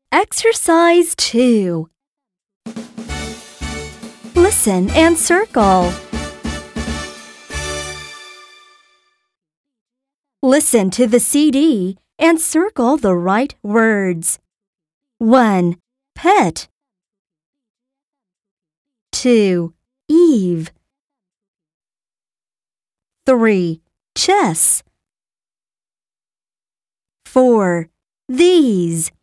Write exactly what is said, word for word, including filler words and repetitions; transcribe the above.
Exercise two. Listen and circle. Listen to the C D and circle the right words. one. Pet. two. Eve. three. Chess. four. These.